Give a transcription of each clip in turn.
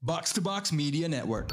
Box to Box Media Network.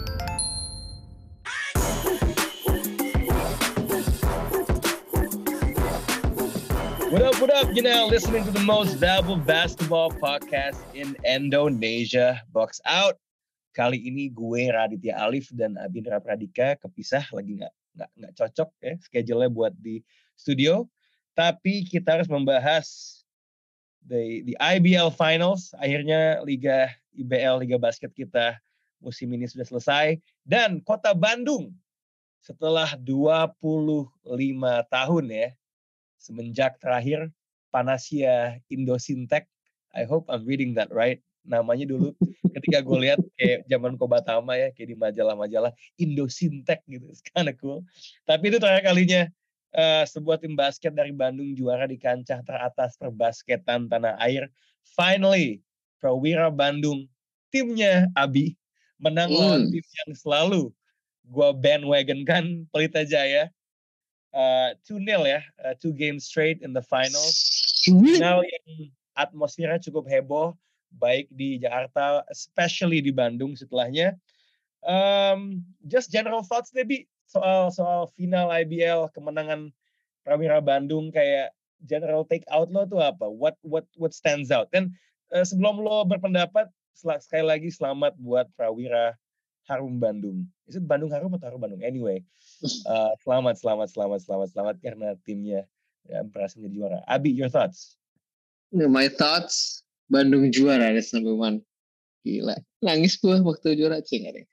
What up? You're now listening to the most valuable basketball podcast in Indonesia, Box Out. Kali ini gue Raditya Alif dan Abindra Pradika kepisah, lagi nggak cocok ya schedule-nya buat di studio. Tapi kita harus membahas the IBL Finals. Akhirnya Liga IBL, Liga Basket kita musim ini sudah selesai. Dan Kota Bandung setelah 25 tahun ya, semenjak terakhir Panacea Indosyntek, I hope I'm reading that right, namanya dulu ketika gue lihat kayak zaman Kobatama ya, kayak di majalah-majalah Indosyntek gitu, it's kind of cool. Tapi itu terakhir kalinya sebuah tim basket dari Bandung juara di kancah teratas perbasketan tanah air. Finally, Prawira Bandung, timnya Abi, menang lawan tim yang selalu gue bandwagon kan, Pelita Jaya. 2-0 ya, 2 games straight in the finals. Final yang atmosfernya cukup heboh, baik di Jakarta, especially di Bandung setelahnya. Just general thoughts Debbie soal final IBL, kemenangan Prawira Bandung, kayak general take out lo tuh apa? What stands out? Dan sebelum lo berpendapat, sekali lagi selamat buat Prawira Harum Bandung. Is it Bandung Harum atau Harum Bandung? Anyway, selamat karena timnya ya, berhasil menjadi juara. Abi, your thoughts? My thoughts, Bandung juara, that's number one. Gila, nangis gue waktu juara deh.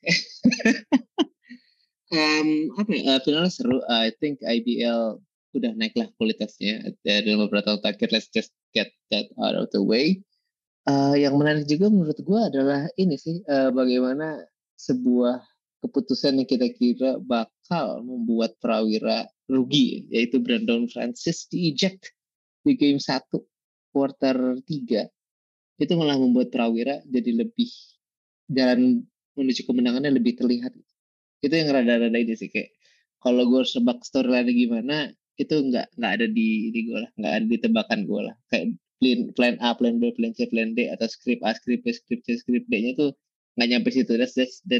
Finalnya seru. I think IBL udah naik lah kualitasnya dalam beberapa tahun terakhir. Let's just get that out of the way. Yang menarik juga menurut gue adalah ini sih, bagaimana sebuah keputusan yang kita kira bakal membuat Prawira rugi, yaitu Brandon Francis di-eject di game 1 quarter 3. Itu malah membuat Prawira jadi lebih, jalan menuju kemenangannya lebih terlihat. Itu yang rada-rada ini sih, kayak kalau gue harus nebak storyline gimana, itu nggak ada di gue lah, nggak ada di tebakan gue lah. Kayak plan A, plan B, plan C, plan D, atau script A, script B, script C, script D-nya tuh nggak nyampe situ. That's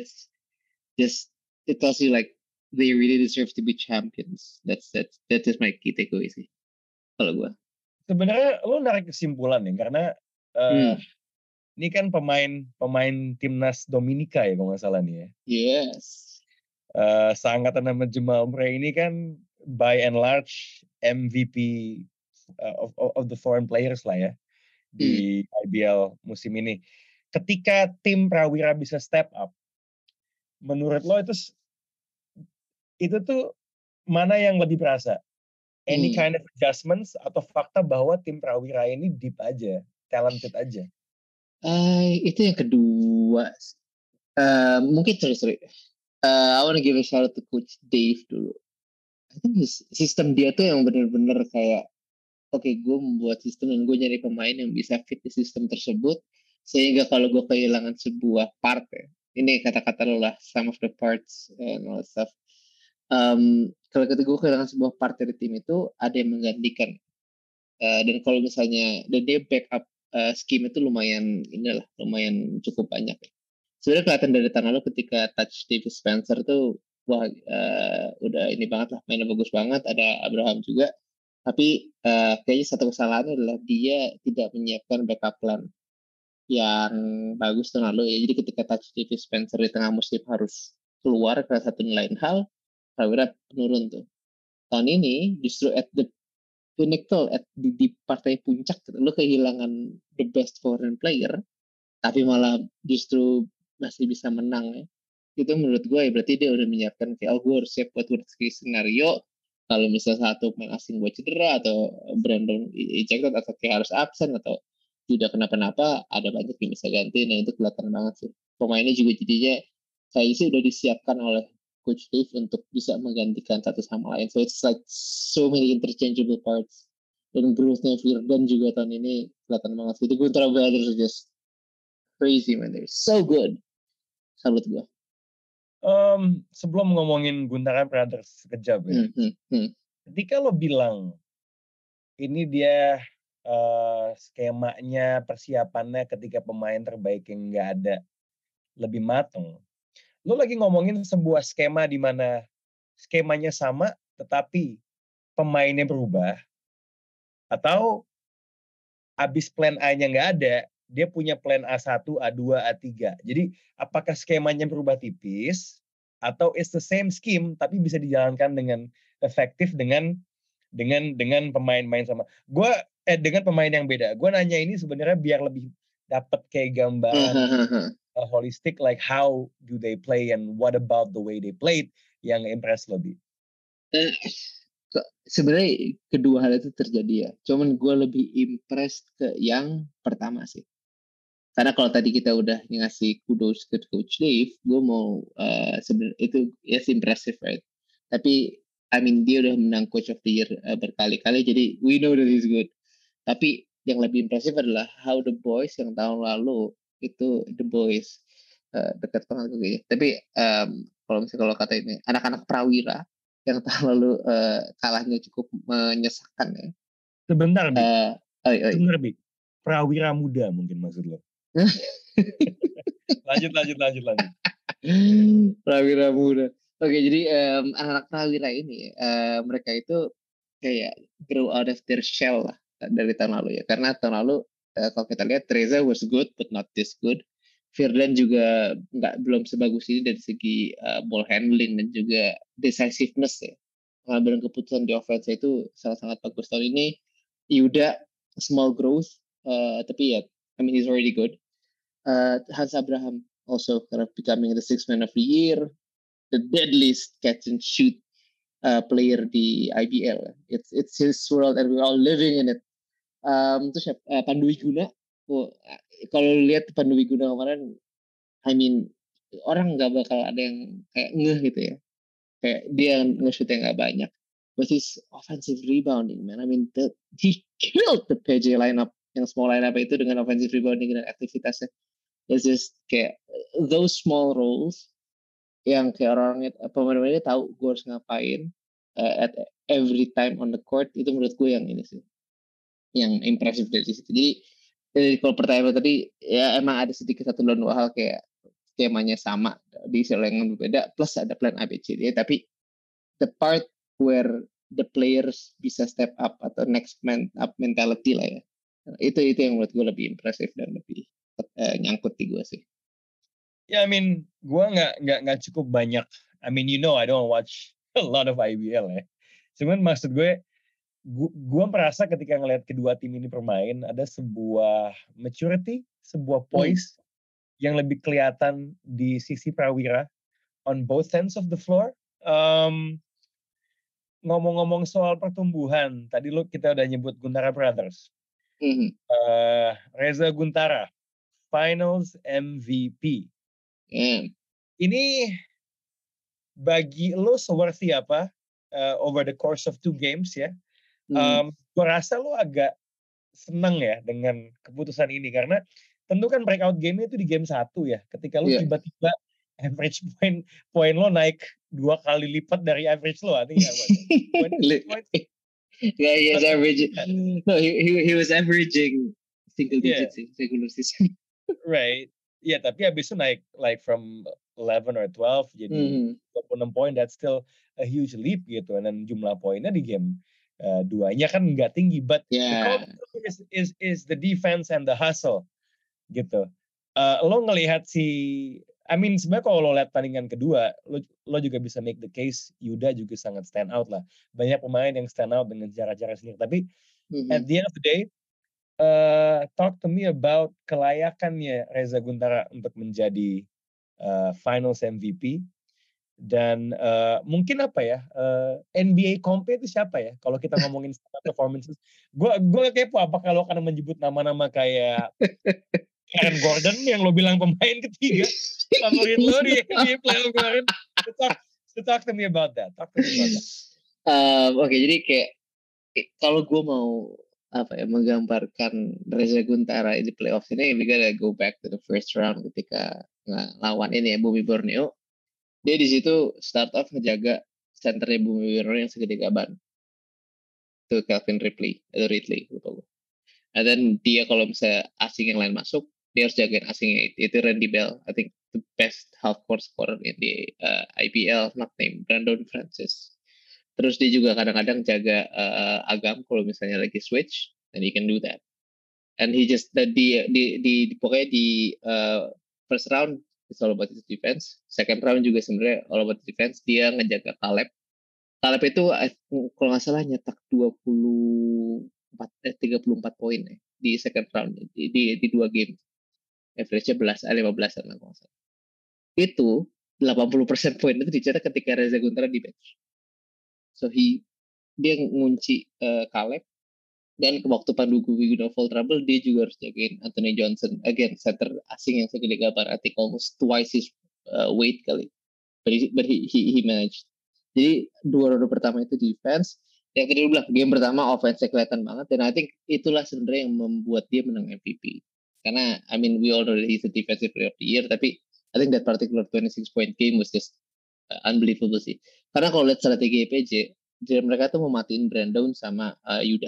just, it tells you like they really deserve to be champions. That's just my key takeaway sih kalau gue. Sebenarnya lo narik kesimpulan ya, karena ini kan pemain timnas Dominika ya kalau nggak salah nih ya. Yes. Seangkatan nama Jamal Murray ini kan by and large MVP of the foreign players lah ya di IBL musim ini. Ketika tim Prawira bisa step up, menurut lo itu tuh mana yang lebih berasa? Any kind of adjustments atau fakta bahwa tim Prawira ini deep aja, talented aja? Itu yang kedua. Mungkin sorry. I want to give a shout out to Coach Dave dulu. I think sistem dia tuh yang benar-benar kayak, oke, gue membuat sistem dan gue nyari pemain yang bisa fit di sistem tersebut, sehingga kalau gue kehilangan sebuah part ya, ini kata-kata lo lah, some of the parts and all that stuff. Kalau ketika gue kehilangan sebuah part dari tim itu, ada yang menggantikan. Dan kalau misalnya, dan dia backup scheme itu lumayan cukup banyak ya. Sebenarnya kelihatan dari tangan lo ketika touch Davis Spencer tuh, wah, udah ini banget lah, mainnya bagus banget. Ada Abraham juga, tapi kayaknya satu kesalahannya adalah dia tidak menyiapkan backup plan yang bagus tahun lalu ya. Jadi ketika touch Davis Spencer di tengah musim harus keluar ke satu lain hal, Prawira penurun tuh. Tahun ini justru at the pinnacle, di partai puncak, lo kehilangan the best foreign player, tapi malah justru masih bisa menang ya. Itu menurut gue ya berarti dia udah menyiapkan kayak, gue harus siap buat worst case scenario kalau misalnya satu pemain asing gue cedera atau Brandon ejected atau kayak harus absen atau tidak kenapa-napa, ada banyak yang bisa ganti. Nah itu kelihatan banget sih. Pemainnya juga jadinya kayaknya sih udah disiapkan oleh Coach Dave untuk bisa menggantikan satu sama lain. So it's like so many interchangeable parts. Dan growth-nya Firdan juga tahun ini kelihatan banget. Itu Guntra Brothers just crazy man, they're so good. Salut gue. Sebelum ngomongin Guntara Brothers sekejap ya, ketika lo bilang ini dia skemanya, persiapannya ketika pemain terbaik yang nggak ada, lebih mateng. Lo lagi ngomongin sebuah skema di mana skemanya sama tetapi pemainnya berubah, atau abis plan A-nya nggak ada, dia punya plan A1, A2, A3. Jadi apakah skemanya berubah tipis atau it's the same scheme tapi bisa dijalankan dengan efektif dengan pemain-pemain sama. Dengan pemain yang beda. Gue nanya ini sebenarnya biar lebih dapat kayak gambaran holistic, like how do they play and what about the way they played yang impress lebih. Sebenarnya kedua hal itu terjadi ya. Cuman gue lebih impressed ke yang pertama sih. Karena kalau tadi kita udah ngasih kudos ke Coach Dave, gue mau sebenarnya itu yes impressive, right? Tapi I mean dia udah menang Coach of the Year berkali-kali, jadi we know that he's good. Tapi yang lebih impressive adalah how the boys yang tahun lalu itu the boys dekat banget gue ya. Tapi kalau kata ini anak-anak prawira yang tahun lalu kalahnya cukup menyesakan ya. Sebentar, Bi. Prawira muda mungkin maksud lo. lanjut. Prawira muda. Oke, jadi anak-anak prawira ini mereka itu kayak grow out of their shell lah dari tahun lalu ya. Karena tahun lalu kalau kita lihat Reza was good but not this good. Firdan juga belum sebagus ini dari segi ball handling dan juga decisiveness ya. Pengambilan keputusan di offense itu sangat-sangat bagus tahun ini. Yuda small growth, tapi ya, I mean he's already good. Hans Abraham also kind of becoming the sixth man of the year, the deadliest catch and shoot player di IBL. It's his world and we're all living in it. Terus Pandu Wiguna, kalau lihat Pandu Wiguna kemarin, I mean orang nggak bakal ada yang kayak ngeh gitu ya, kayak dia nge-shootnya nggak banyak, but his offensive rebounding, man, I mean he killed the PJ lineup, yang small lineup itu dengan offensive rebounding dan aktivitasnya. It's just kayak those small roles yang kayak orang pemain-pemainnya tahu gue harus ngapain at every time on the court, itu menurut gue yang ini sih yang impresif dari situ. Jadi kalau pertanyaan tadi ya emang ada sedikit satu dan dua hal kayak skemanya sama di sisi yang berbeda plus ada plan ABCD, tapi the part where the players bisa step up atau next man up mentality lah ya, itu yang menurut gue lebih impresif dan lebih nyangkut di gue sih. Ya, I mean, gue nggak cukup banyak. I mean, I don't watch a lot of IBL ya. Cuman maksud gue merasa ketika ngelihat kedua tim ini bermain ada sebuah maturity, sebuah poise yang lebih kelihatan di sisi Prawira on both ends of the floor. Ngomong-ngomong soal pertumbuhan, tadi kita udah nyebut Guntara Brothers. Reza Guntara, Finals MVP. Ini bagi lo seworthy apa over the course of 2 games ya? Gue rasa lo agak seneng ya dengan keputusan ini karena tentu kan breakout game-nya itu di game 1 ya. Ketika lo tiba-tiba average point lo naik 2 kali lipat dari average lo, artinya what? Yeah, he was averaging. No, he was averaging single digits in regular season. Right. Ya, tapi habis itu naik like from 11 or 12 jadi 26 poin, that's still a huge leap gitu. Dan jumlah poinnya di game 2-nya kan nggak tinggi, but the core is the defense and the hustle gitu. Lo ngelihat I mean sebenarnya kalau lo lihat tandingan kedua, lo juga bisa make the case Yuda juga sangat stand out lah. Banyak pemain yang stand out dengan cara-cara sendiri. Tapi at the end of the day, talk to me about kelayakannya Reza Guntara untuk menjadi Finals MVP. Dan mungkin apa ya, NBA Comp itu siapa ya? Kalau kita ngomongin performances, gue kepo apa kalau akan menyebut nama-nama kayak Aaron Gordon yang lo bilang pemain ketiga favorit lo di NBA playoff kemarin. Talk to me about that. Oke, jadi kayak kalau gue mau menggambarkan Reza Guntara di playoff ini, we gotta go back to the first round ketika lawan ini ya Bumi Borneo. Dia di situ start off ngejaga centernya Bumi Borneo yang segede gaban. Itu Calvin Ridley lupa gue. Dan dia kalau misalnya asing yang lain masuk, dia harus jagain asingnya itu Randy Bell. I think the best half court scorer in the IPL, not named Brandon Francis. Terus dia juga kadang-kadang jaga Agam kalau misalnya lagi switch, and he can do that. And he just pokoknya di first round it's all about his defense. Second round juga sebenarnya all about defense. Dia ngejaga Caleb. Caleb itu kalau nggak salah nyetak 34 poin ya, di second round di 2 game. Average-nya 15-an lah kalau nggak salah. Itu 80% poin itu dicetak ketika Reza Guntara di bench. So dia ngunci Caleb. Dan waktu Pandu Guwiguna fall trouble, dia juga harus jagain Anthony Johnson. Again, center asing yang segede gabar, I think almost twice his weight kali. But he managed. Jadi 2 ronde pertama itu defense. Yang kedua bilang, game pertama offense kelihatan banget. Dan I think itulah sebenarnya yang membuat dia menang MVP. Karena, I mean, we all know that he's a defensive player of the year. Tapi I think that particular 26-point game was just unbelievable sih. Karena kalau lihat strategi PJ, mereka tuh mau matiin Brandon sama Yuda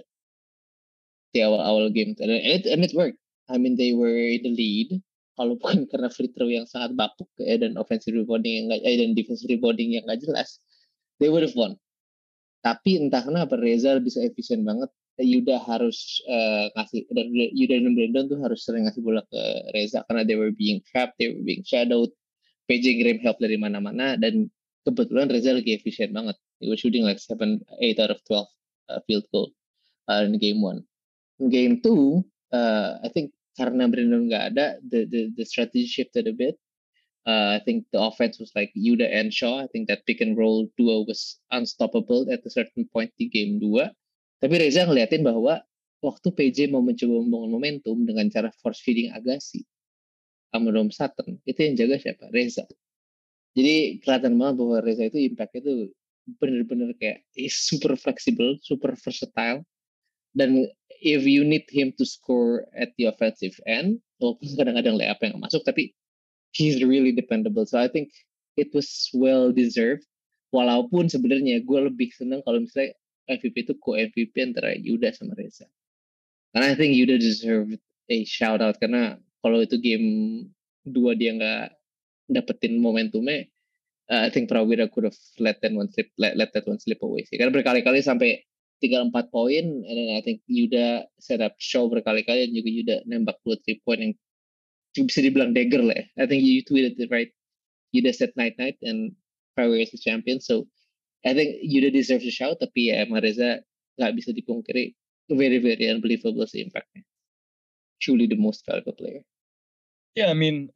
di awal game, and it worked. I mean, they were in the lead. Kalau bukan karena free throw yang sangat bapuk dan offensive rebounding dan defensive rebounding yang nggak jelas, they would have won. Tapi entah kenapa Reza bisa efisien banget. Yuda harus ngasih, dan Yuda dan Brandon tuh harus sering ngasih bola ke Reza karena they were being trapped, they were being shadowed. PJ ngirim help dari mana-mana, dan kebetulan Reza lagi efisien banget. He was shooting like 8 out of 12 field goal in game 1. Game 2, I think karena Brandon nggak ada, the strategy shifted a bit. I think the offense was like Yuda and Shaw. I think that pick and roll duo was unstoppable at a certain point di game 2. Tapi Reza ngeliatin bahwa waktu PJ mau mencoba membangun momentum dengan cara force feeding Agassi sama Dom Sutton, itu yang jaga siapa? Reza. Jadi kelihatan banget bahwa Reza itu impact itu bener-bener kayak super flexible, super versatile. Dan if you need him to score at the offensive end, walaupun kadang-kadang layup yang masuk, tapi he's really dependable. So I think it was well deserved. Walaupun sebenarnya gue lebih seneng kalau misalnya MVP itu co-MVP antara Yuda sama Reza. Karena I think Yuda deserved a shout out, karena kalau itu game 2 dia nggak dapetin momentumnya, I think Prawira could have let that one slip away sih. Karena berkali-kali sampai 3-4 poin, and then I think Yuda set up show berkali-kali, dan juga Yuda nembak 2-3 point yang bisa dibilang dagger lah ya. I think you tweeted it right. Yuda set night and Prawira is the champion. So I think Yuda deserves a shout, tapi ya emang Reza nggak bisa dipungkiri. Very, very unbelievable sih impactnya. Truly the most valuable player. Yeah, I mean,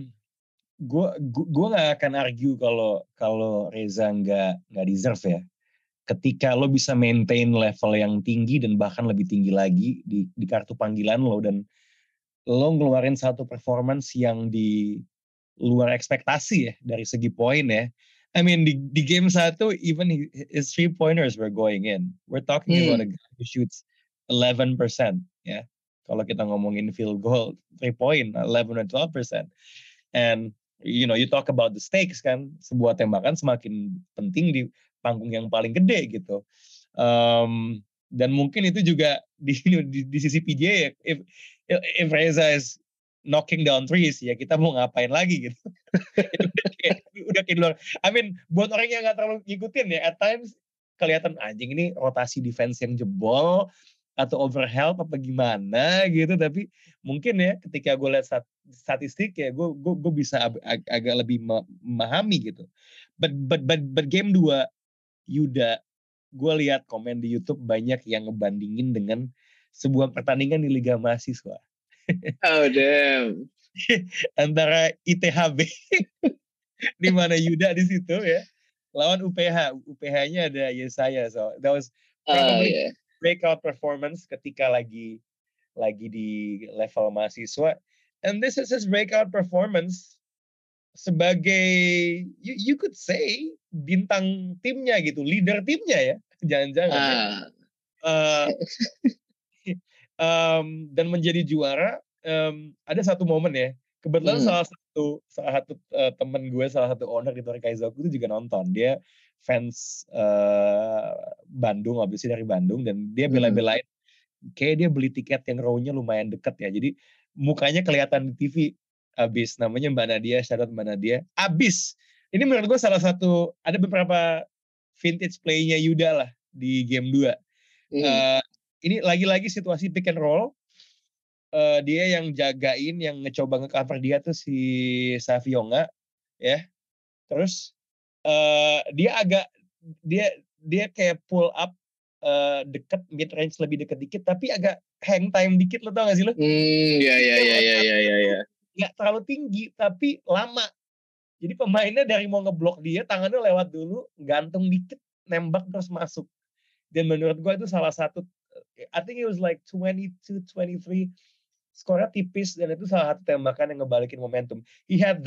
gue nggak akan argue kalau Reza nggak deserve ya. Ketika lo bisa maintain level yang tinggi dan bahkan lebih tinggi lagi di kartu panggilan lo, dan lo ngeluarin satu performance yang di luar ekspektasi ya dari segi poin ya. I mean di game 1 even his 3-pointers were going in. We're talking about a guy who shoots 11% ya. Kalau kita ngomongin field goal 3-point 11 or 12%. And you talk about the stakes kan, sebuah tembakan semakin penting di panggung yang paling gede gitu. Dan mungkin itu juga di sisi PJ ya, if Reza is knocking down threes, ya kita mau ngapain lagi gitu. udah kayak luar. I mean, buat orang yang nggak terlalu ngikutin ya, at times kelihatan anjing ini rotasi defense yang jebol atau overhelp apa gimana gitu. Tapi mungkin ya ketika gue lihat statistik ya, gue bisa agak lebih memahami gitu. But game 2 Yuda, gue lihat komen di YouTube banyak yang ngebandingin dengan sebuah pertandingan di Liga Mahasiswa. Oh damn. Antara ITHB di mana Yuda di situ ya lawan UPH. UPH-nya ada Yesaya, so that was probably breakout performance ketika lagi di level mahasiswa. And this is his breakout performance sebagai you could say bintang timnya gitu, leader timnya ya, jangan-jangan ya. Dan menjadi juara. Ada satu momen ya, kebetulan salah satu temen gue, salah satu owner di Torikaizoku itu juga nonton. Dia fans Bandung, obviously dari Bandung, dan dia bela-belain kayak dia beli tiket yang row-nya lumayan deket ya, jadi mukanya kelihatan di TV Abis. Namanya Mbak Nadia, shout out Mbak Nadia. Abis. Ini menurut gue salah satu, ada beberapa vintage play-nya Yuda lah di game 2. Ini lagi-lagi situasi pick and roll. Dia yang jagain, yang ngecoba nge-cover dia tuh si Savionga, ya. Terus dia kayak pull up deket mid range, lebih deket dikit, tapi agak hang time dikit, lo tau gak sih lo? Iya. Nggak terlalu tinggi, tapi lama. Jadi pemainnya dari mau ngeblok dia, tangannya lewat dulu, gantung dikit, nembak terus masuk. Dan menurut gue itu salah satu, I think it was like 22-23, skornya tipis, dan itu salah satu tembakan yang ngebalikin momentum. He had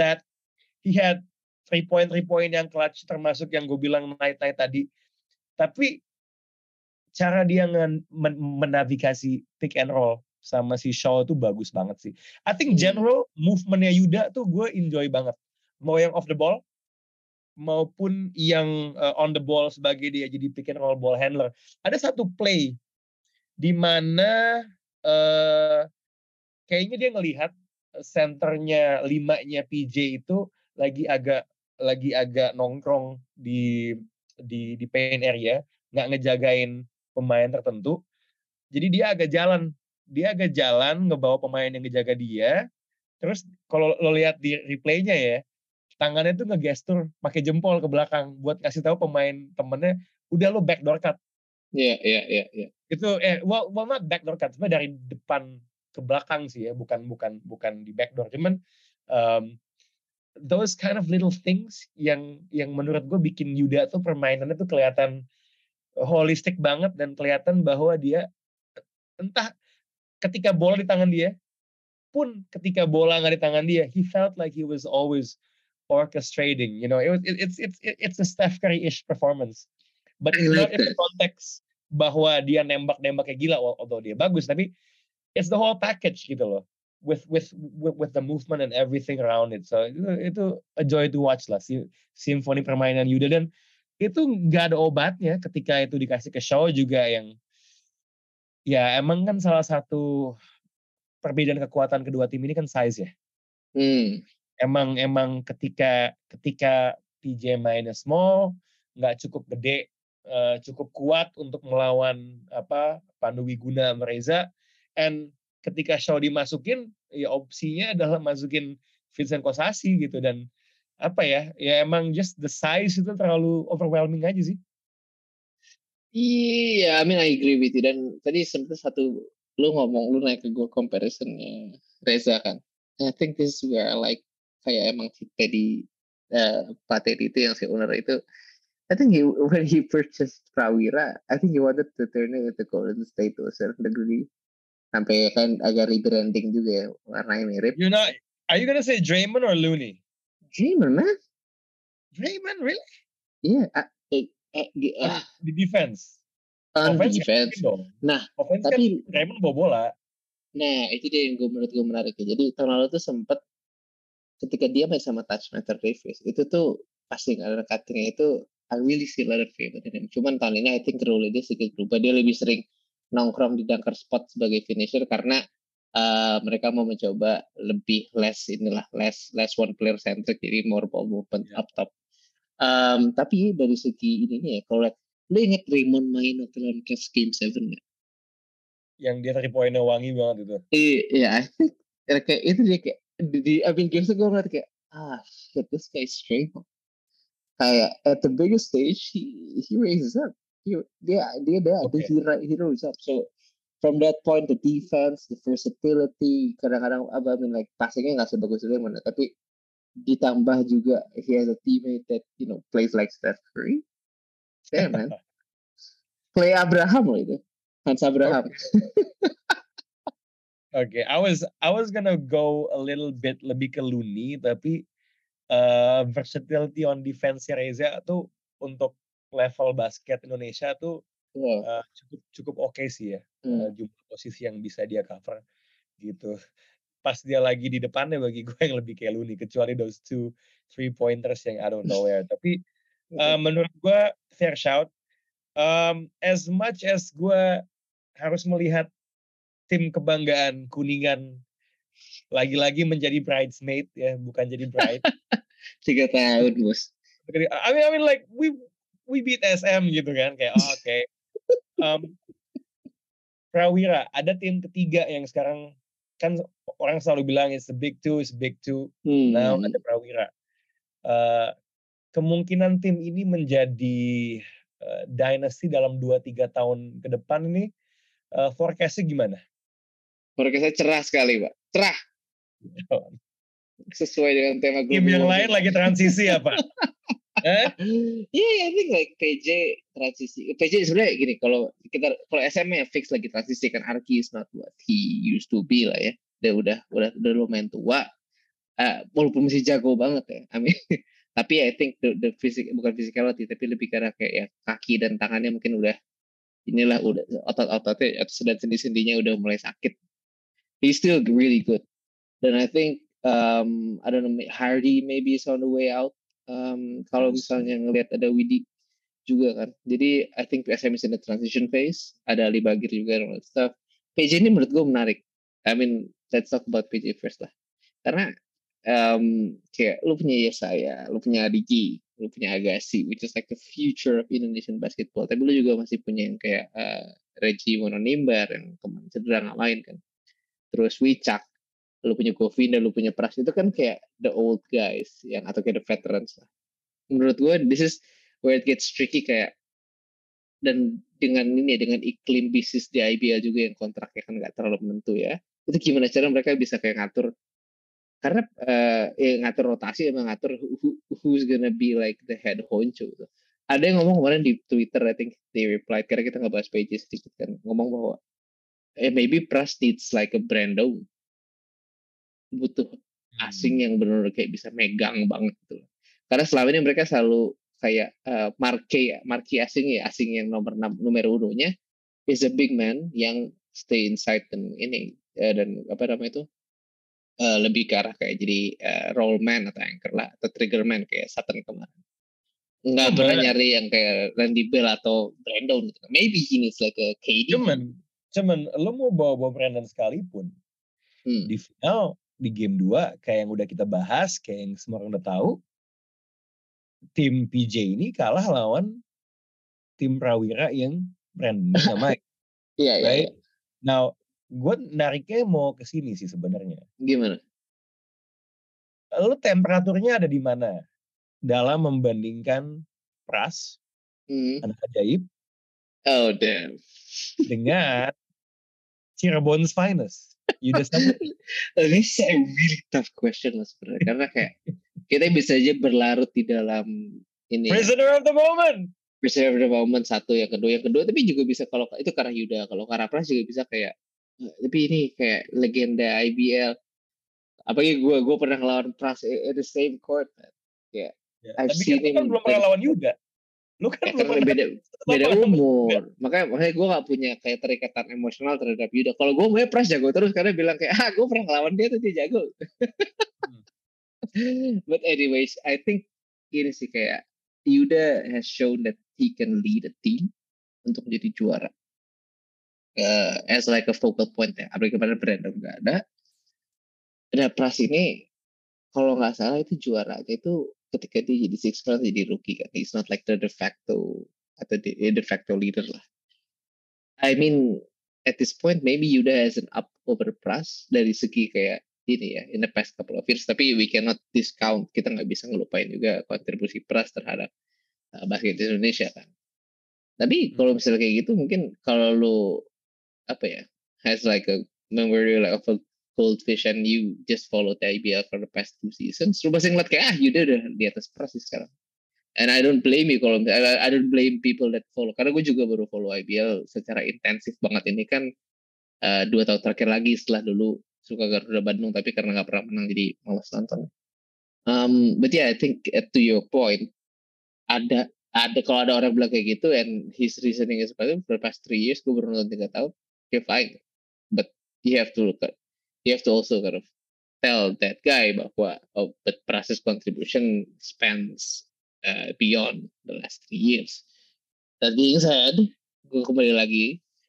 3 point yang clutch, termasuk yang gue bilang night tadi. Tapi cara dia menavigasi pick and roll sama si Shaw tuh bagus banget sih. I think general movementnya Yuda tuh gue enjoy banget. Mau yang off the ball, maupun yang on the ball sebagai dia jadi pick and roll ball handler. Ada satu play di mana kayaknya dia ngelihat centernya 5-nya PJ itu lagi agak nongkrong di paint area, nggak ngejagain pemain tertentu. Jadi dia agak jalan ngebawa pemain yang ngejaga dia. Terus kalau lo lihat di replaynya ya, tangannya tuh ngegestur pakai jempol ke belakang buat kasih tahu pemain temennya, udah lo backdoor cut. Iya. Itu well not backdoor cut, sebenarnya dari depan ke belakang sih ya, bukan di backdoor. Cuman those kind of little things yang menurut gue bikin Yuda tuh permainannya tuh kelihatan holistik banget, dan kelihatan bahwa dia entah ketika bola di tangan dia pun ketika bola nggak di tangan dia, he felt like he was always orchestrating. You know, it's a Steph Curry-ish performance, but it's not in the context bahwa dia nembak kayak gila, although dia bagus, tapi it's the whole package gitu loh, with the movement and everything around it. So itu a joy to watch lah, simfoni permainan Yuda, dan itu nggak ada obatnya ketika itu dikasih ke Shaw juga, yang ya emang kan salah satu perbedaan kekuatan kedua tim ini kan size ya. Emang ketika PJ mainnya small, nggak cukup gede, cukup kuat untuk melawan Pandu Wiguna sama Reza, and ketika Shaw dimasukin, ya opsinya adalah masukin Vincent Kosasi gitu, dan ya emang just the size itu terlalu overwhelming aja sih. Iya, I mean I agree with you. Dan tadi sempat lu naik ke gue comparisonnya Reza kan. I think this is where I like kayak emang si Teddy Pak Teddy itu yang si owner itu, I think when he purchased Prawira, I think he wanted to turn it into Golden State to a certain degree. Sampai kan agak rebranding juga ya, warnanya mirip. Are you gonna say Draymond or Looney? Draymond, man. Draymond, really? Iya. Di defense. Defense. Nah, offense tapi kan Draymond bawa bola. Nah, itu dia yang menurut gue menarik ya. Jadi tahun lalu tuh sempet ketika dia main sama Touchmaker Davis, itu tuh pasti ada cuttingnya itu, I really see a lot of favor in him. Cuman tahun ini I think role dia sedikit berubah. Dia lebih sering nongkrong di dunker spot sebagai finisher karena mereka mau mencoba lebih less one player centric, jadi more ball movement up top. Tapi dari segi ininya ya, kalau lu inget Raymond main waktu lawan Cavs Game 7 nggak? Yang dia 3-pointnya wangi banget itu. Iya, I think kayak itu dia kayak Game 7 gue ngeliat kayak shit, this guy straight. Kayak at the biggest stage he raises up. Dia he rose up. So from that point, the defense, the versatility, kadang-kadang like passingnya nggak sebagus itu mana, tapi ditambah juga he has a teammate that plays like Steph Curry. Damn man, Clay Abraham loh itu, Hans Abraham. Okay, I was gonna go a little bit lebih ke Looney, tapi versatility on defense Reza tuh untuk level basket Indonesia tuh cukup oke sih ya. Jumlah posisi yang bisa dia cover gitu. Pas dia lagi di depannya, bagi gue yang lebih kayak Looney, kecuali those 2 3-pointers yang I don't know where. Tapi menurut gue fair shout. As much as gue harus melihat tim kebanggaan Kuningan lagi-lagi menjadi bridesmaid ya, bukan jadi bride. 3 tahun bos. I mean like we beat SM gitu kan, kayak oke. Prawira, ada tim ketiga yang sekarang kan orang selalu bilang it's the big two, Now ada Prawira. Kemungkinan tim ini menjadi dynasty dalam 2-3 tahun ke depan ini, forecast-nya gimana? Forecast-nya cerah sekali, Pak. Cerah. Sesuai dengan tema Tim yang lain lagi transisi apa? I think like PJ transisi. PJ sebenarnya gini, kalau SM ya fix lagi transisi kan. Arki is not what he used to be lah ya. Dia udah lumayan tua. Walaupun masih jago banget ya. I mean, tapi I think the bukan physicality, tapi lebih karena kayak ya kaki dan tangannya mungkin udah otot-ototnya atau sendi-sendinya udah mulai sakit. He's still really good. Dan I think I don't know, Hardy maybe is on the way out. Kalau misalnya ngelihat ada Widi juga kan. Jadi I think SM is in the transition phase. Ada Ali Bagir juga dan stuff. PJ ini menurut gue menarik. I mean, let's talk about PJ first lah. Karena kayak lu punya Yesaya, lu punya Adiki, lu punya Agassi, which is like the future of Indonesian basketball. Tapi lu juga masih punya yang kayak Reggie Mononimbar yang kemarin cedera ngalahin kan. Terus Wicak, lu punya Govinda, lu punya Pras, itu kan kayak the old guys yang atau kayak the veterans lah. Menurut gue this is where it gets tricky kayak, dan dengan iklim bisnis di IBL juga yang kontraknya kan nggak terlalu menentu ya, itu gimana cara mereka bisa kayak ngatur, karena ngatur rotasi emang ngatur who's gonna be like the head honcho gitu. Ada yang ngomong kemarin di Twitter, I think they replied, karena kita nggak bahas PJ sedikit kan, ngomong bahwa maybe Pras needs like a Brando, butuh asing yang benar-benar kayak bisa megang banget gitu. Karena selama ini mereka selalu kayak marquee asing yang nomor 1-nya is a big man yang stay inside dan apa namanya itu lebih ke arah kayak jadi roll man atau anchor lah atau trigger man kayak Sutton kemarin. Nggak pernah nyari yang kayak Randy Bell atau Brandon gitu. Maybe he needs like a KD. Cuman lo mau bawa Brandon sekalipun di final di game 2 kayak yang udah kita bahas, kayak yang semua orang udah tahu, tim PJ ini kalah lawan tim Prawira yang Brandon nggak main. Iya, right? Iya. Now, gue nariknya mau ke sini sih sebenarnya. Gimana? Lo temperaturnya ada di mana dalam membandingkan Pras, anak ajaib, damn, dengan Cirebon's finest, Yuda Samudra? This is a really tough question lah sebenarnya, karena kayak kita bisa aja berlarut di dalam ini. Prisoner of the moment. Prisoner of the moment satu, yang kedua, tapi juga bisa kalau itu karena Yuda, kalau karena Pras juga bisa kayak, tapi ini kayak legenda IBL. Apalagi gue pernah ngelawan Pras at the same court, kayak. Tapi kan lu kan belum pernah lawan Yuda. Lu kan karena beda umur. Makanya gue gak punya kayak terikatan emosional terhadap Yuda. Kalau gue Pras jago terus karena bilang kayak gue pernah ngelawan dia tuh dia jago. But anyways, I think ini sih kayak Yuda has shown that he can lead a team untuk menjadi juara. As like a focal point ya. Apalagi kemarin Brandon gak ada. Ada Pras ini kalau nggak salah itu juaranya itu ketika dia jadi six man jadi rookie kan. He's not like the de facto atau de facto leader lah. I mean at this point maybe Yuda has an up over Pras dari segi kayak ini ya in the past couple of years, tapi we cannot discount, kita nggak bisa ngelupain juga kontribusi Pras terhadap basket Indonesia kan. Tapi kalau misalnya kayak gitu mungkin kalau lu apa ya has like a memory like of a goldfish and you just follow the IBL for the past 2 seasons, lu pasti ngeliat kayak Yuda udah di atas Pras sih sekarang. And I don't blame you kalau I don't blame people that follow, karena gue juga baru follow IBL secara intensif banget ini kan 2 tahun terakhir lagi setelah dulu suka Garuda Bandung, tapi karena nggak pernah menang jadi malas nonton. But yeah, I think to your point, ada kalau ada orang bilang kayak gitu and his reasoning is for the past 3 years gue baru nonton 3 tahun, okay fine, but you have to also kind of tell that guy bahwa but Pras's contribution spans beyond the last 3 years. That being said, gue kembali lagi,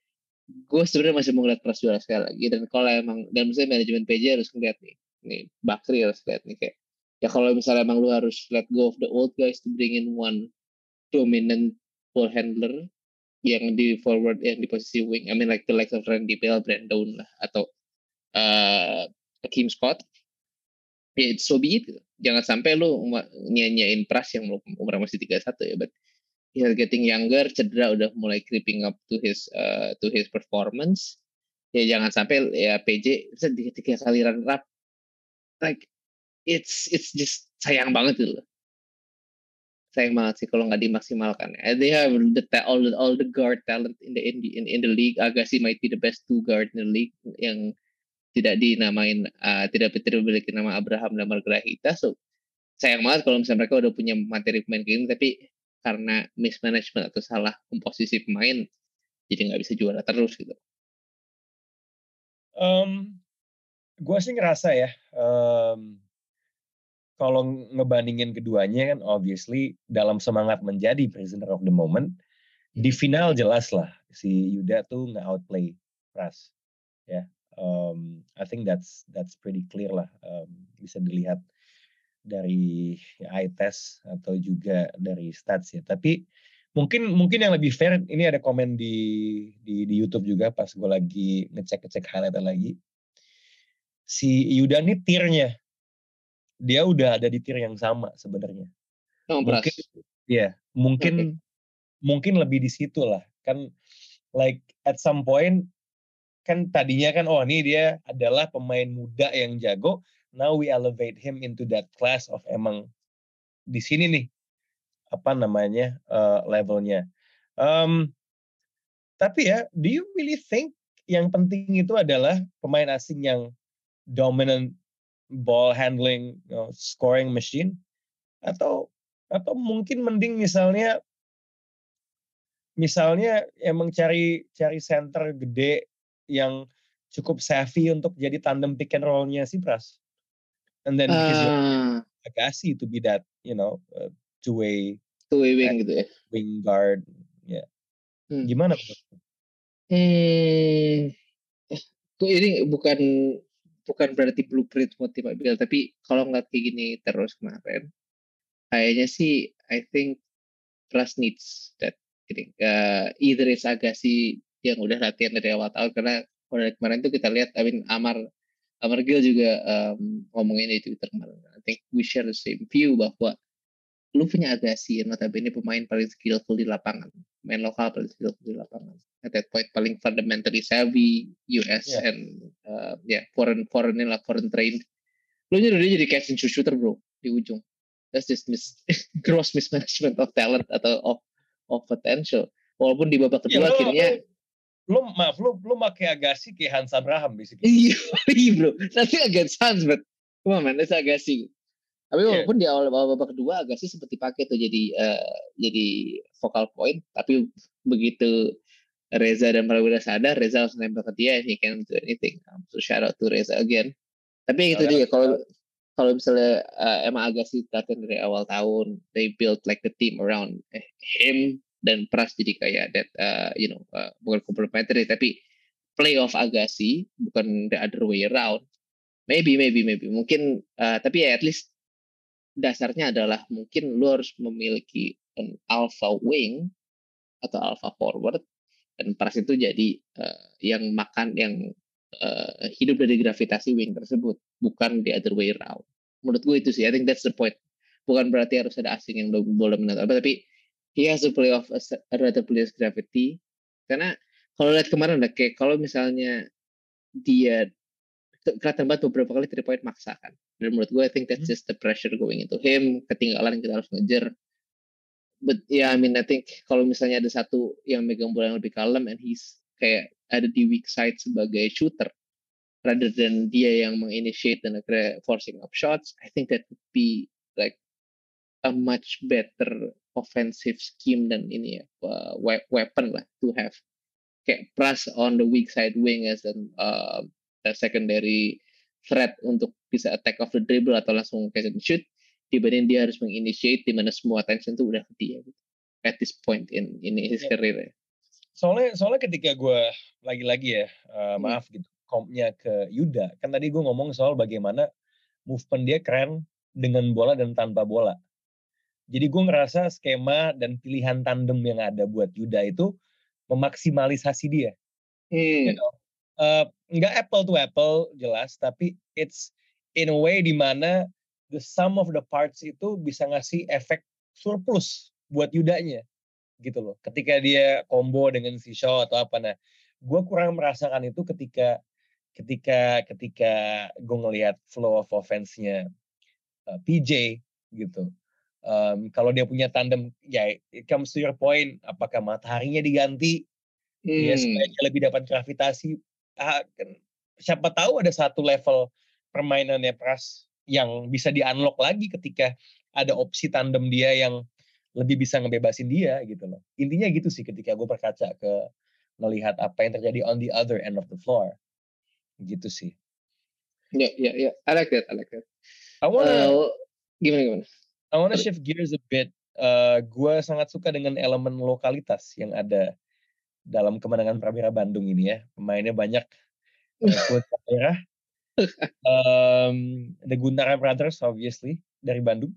gue sebenarnya masih mau ngeliat Pras juara sekali lagi, dan kalau emang, dan misalnya manajemen PJ harus ngeliat nih Bakri harus lihat nih kayak, ya kalau misalnya emang lu harus let go of the old guys to bring in one dominant ball handler yang di forward, yang di posisi wing, I mean like the likes of Randy Bell, Brandon lah, atau Kim Scott, ya it's so be it gitu. Jangan sampai lu nyanyain Pras yang umur masih 31 ya, but he's getting younger, cedera udah mulai creeping up to his performance. Ya jangan sampai ya PJ bisa 3 kali runner up, like it's just sayang banget gitu loh. Sayang banget sih kalau nggak dimaksimalkan. They have all the guard talent in the league. Agassi might be the best 2 guard in the league yang tidak dinamain, tidak memiliki nama Abraham dan Margarita. So sayang banget kalau misalnya mereka udah punya materi pemain kayak gini, tapi karena mismanagement atau salah komposisi pemain, jadi nggak bisa juara terus gitu. Gue sih ngerasa ya, kalau ngebandingin keduanya kan obviously dalam semangat menjadi prisoner of the moment, di final jelas lah si Yuda tuh nggak outplay Pras. Ya, I think that's pretty clear lah, bisa dilihat dari eye test atau juga dari stats ya. Tapi mungkin yang lebih fair, ini ada komen di YouTube juga pas gue lagi ngecek highlight lagi. Si Yuda nih tiernya, dia udah ada di tier yang sama sebenarnya. Mungkin ya, mungkin lebih di situ lah. Kan like at some point kan tadinya kan ini dia adalah pemain muda yang jago. Now we elevate him into that class of emang di sini nih apa namanya levelnya. Tapi ya, do you really think yang penting itu adalah pemain asing yang dominant ball handling, scoring machine, atau mungkin mending misalnya emang cari center gede yang cukup savvy untuk jadi tandem pick and roll-nya si Pras, and then because you Agassi to be that two-way wing gitu ya, wing guard ya. Gimana? Ini bukan berarti blueprint motivasi Bill, tapi kalau ngeliat kayak gini terus kemarin, kayaknya sih I think Pras needs that. Either it's Agassi yang udah latihan dari awal tahun, karena kalau dari kemarin tuh kita lihat, Amar Gil juga ngomongin di Twitter kemarin. I think we share the same view bahwa lu punya Agassi yang notabene pemain paling skillful di lapangan, main lokal paling skillful di lapangan. At that point paling fundamentally savvy, US and foreign trained. Lu jadi catch and shoot shooter bro di ujung. That's just gross mismanagement of talent atau of potential. Walaupun di babak kedua akhirnya lu pakai Agassi kayak Hans Abraham basically. Iya bro, nanti against Hans, but come on man, that's Agassi. Tapi walaupun di awal babak kedua Agassi sempat dipakai tuh jadi focal point, tapi begitu Reza dan Prawira sadar, Reza langsung nembak ke dia, and he can't do anything. So shout out to Reza again. Tapi itu dia, kalau misalnya emang Agassi latihan dari awal tahun, they build like the team around him, dan Pras jadi kayak that bukan complementary, tapi playoff Agassi, bukan the other way around. Maybe mungkin, tapi ya at least dasarnya adalah mungkin lu harus memiliki an alpha wing atau alpha forward, dan Pras itu jadi yang hidup dari gravitasi wing tersebut, bukan the other way around. Menurut gue itu sih, I think that's the point. Bukan berarti harus ada asing yang boleh menonton, tapi he has to play off a relatively gravity. Karena kalau lihat kemarin kayak kalau misalnya dia kelihatan banget beberapa kali 3 point maksa kan. Dan menurut gue I think that's just the pressure going into him, ketinggalan kita harus ngejar. But yeah, I mean I think kalau misalnya ada satu yang megang bola yang lebih kalem and he's kayak ada di weak side sebagai shooter rather than dia yang menginitiate dan akhirnya forcing up shots, I think that would be like a much better offensive scheme dan ini ya, weapon lah to have. Kayak Pras on the weak side wing as a secondary threat untuk bisa attack off the dribble atau langsung catch and shoot, dibanding dia harus menginitiate di mana semua attention tuh udah ke dia gitu, at this point in his career ya. Soalnya ketika gue lagi-lagi ya, maaf gitu, compnya ke Yuda, kan tadi gue ngomong soal bagaimana movement dia keren dengan bola dan tanpa bola. Jadi gue ngerasa skema dan pilihan tandem yang ada buat Yuda itu memaksimalisasi dia. You know, nggak apple to apple jelas, tapi it's in a way di mana the sum of the parts itu bisa ngasih efek surplus buat Yudanya gitu loh. Ketika dia combo dengan si Shaw atau apa, nah gue kurang merasakan itu ketika ketika ketika gue ngelihat flow of offense-nya PJ gitu. Kalau dia punya tandem, ya it comes to your point, apakah mataharinya diganti, ya supaya dia lebih dapat gravitasi. Kan, siapa tahu ada satu level permainannya Pras yang bisa di-unlock lagi ketika ada opsi tandem dia yang lebih bisa ngebebasin dia gitu loh. Intinya gitu sih ketika gue berkaca ke melihat apa yang terjadi on the other end of the floor. Gitu sih. Ya. I like that. I wanna Gimana? I wanna Sorry. shift gears a bit. Gue sangat suka dengan elemen lokalitas yang ada dalam kemenangan Prawira Bandung ini ya. Pemainnya banyak kulit daerah. The Guntara Brothers obviously dari Bandung.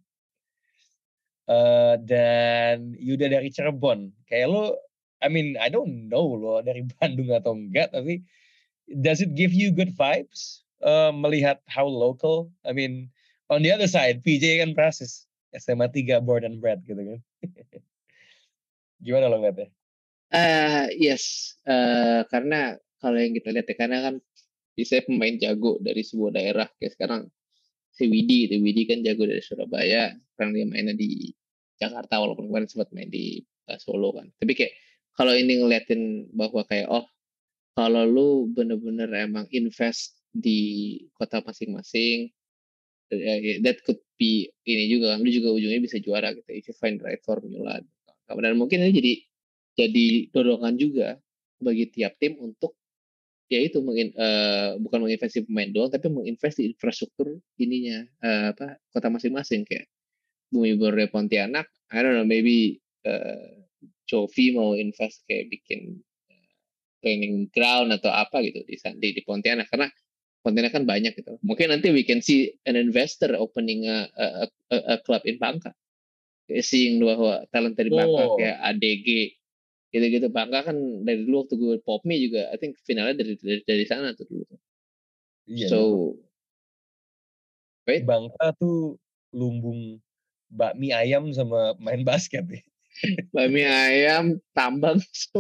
Dan Yuda dari Cirebon. Kayak lo, I mean, I don't know lo dari Bandung atau enggak, tapi does it give you good vibes melihat how local? I mean, on the other side, PJ kan Prasis, SMA 3 born and bred gitu kan. Gimana lo ngeliatnya? Yes, karena kalau yang kita lihat ya, karena kan bisa pemain jago dari sebuah daerah kayak sekarang si Widi kan jago dari Surabaya, sekarang dia mainnya di Jakarta walaupun kemarin sempat main di Solo kan. Tapi kayak kalau ini ngeliatin bahwa kayak kalau lu bener-bener emang invest di kota masing-masing, that could be ini juga kan, lu juga ujungnya bisa juara gitu if you find the right formula. Dan mungkin ini jadi dorongan juga bagi tiap tim untuk ya itu bukan menginvestasi pemain doang tapi menginvest di infrastruktur ininya kota masing-masing kayak Bumi Borneo Pontianak, I don't know, maybe Jovi mau invest kayak bikin training ground atau apa gitu di Pontianak karena Pontianak kan banyak gitu. Mungkin nanti we can see an investor opening a club in Bangka. Seeing bahwa talent dari Bangka kayak ADG gitu-gitu. Bangka kan dari dulu waktu gue Popme juga I think finalnya dari sana tuh dulu. Iya, So right? Bangka tuh lumbung bakmi ayam sama main basket ya. Bakmi ayam, tambang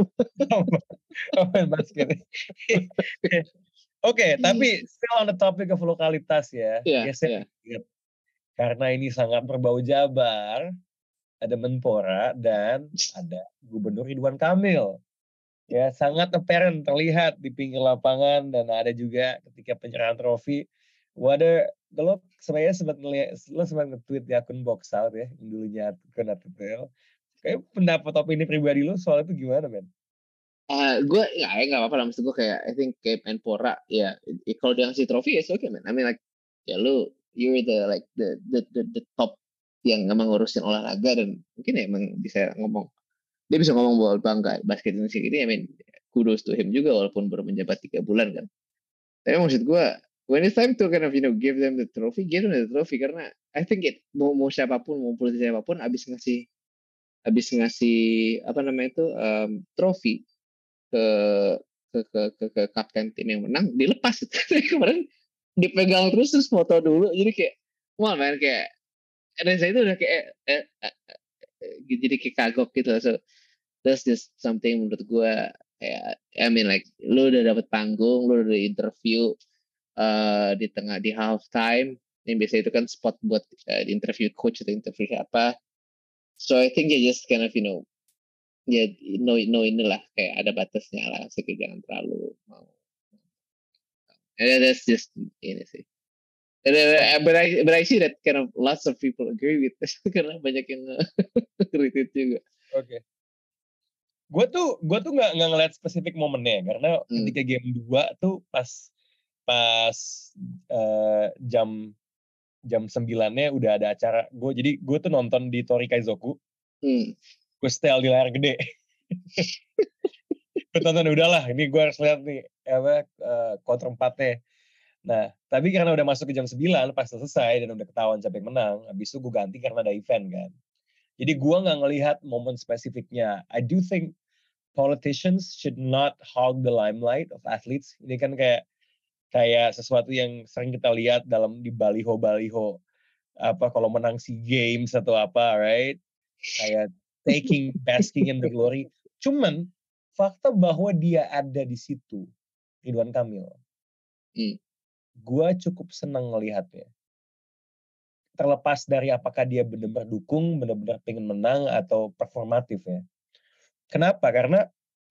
main basket. Oke, tapi still on the topic of lokalitas ya. Iya. Karena ini sangat berbau Jabar, ada Menpora dan ada Gubernur Ridwan Kamil. Ya, sangat apparent terlihat di pinggir lapangan dan ada juga ketika penyerahan trofi. Kalau sebenarnya sempat nge-tweet di akun Box Out ya, yang dulunya akun ATTL. Kayak pendapat opini pribadi lo soal itu gimana, men? Gue nggak apa-apa lah, maksud gue kayak I think kayak Menpora ya kalau dia ngasih trofi ya oke man. I mean like ya you're the top yang emang ngurusin olahraga dan mungkin ya emang bisa ngomong bahwa bangga basket Indonesia gitu ya, I mean kudos to him juga walaupun baru menjabat 3 bulan kan. Tapi maksud gue when it's time to kind of give them the trophy karena I think mau siapapun mau politisi siapapun abis ngasih apa namanya itu trofi ke kapten tim yang menang dilepas itu. Kemarin dipegang terus foto dulu jadi kayak wah man kayak saya itu udah kayak jadi kayak kagok gitu. So that's just something menurut gue kayak I mean like lu udah dapet panggung, lu udah interview di half time yang biasa itu kan spot buat interview coach atau interview siapa. So I think you just kind of ya inilah kayak ada batasnya lah, jangan terlalu mau. That's just ini sih. But I see that kind of lots of people agree with this karena banyak yang retweet juga. Oke. Gue tuh nggak ngeliat spesifik momennya karena ketika game 2 tuh pas jam 9-nya udah ada acara. Jadi gue tuh nonton di Tori Kaizoku. Gue setel di layar gede. Gue tonton udahlah, ini gue harus lihat nih quarter 4-nya. Nah, tapi karena udah masuk ke jam 9 pas selesai dan udah ketahuan siapa yang menang, habis itu gue ganti karena ada event kan. Jadi gue nggak ngelihat momen spesifiknya. I do think politicians should not hog the limelight of athletes. Ini kan kayak sesuatu yang sering kita lihat di baliho-baliho apa kalau menang SEA Games atau apa, right? Kayak basking in the glory. Cuman fakta bahwa dia ada di situ, Ridwan Kamil, gue cukup senang ngelihatnya. Terlepas dari apakah dia benar-benar dukung, benar-benar pengen menang atau performatif ya. Kenapa? Karena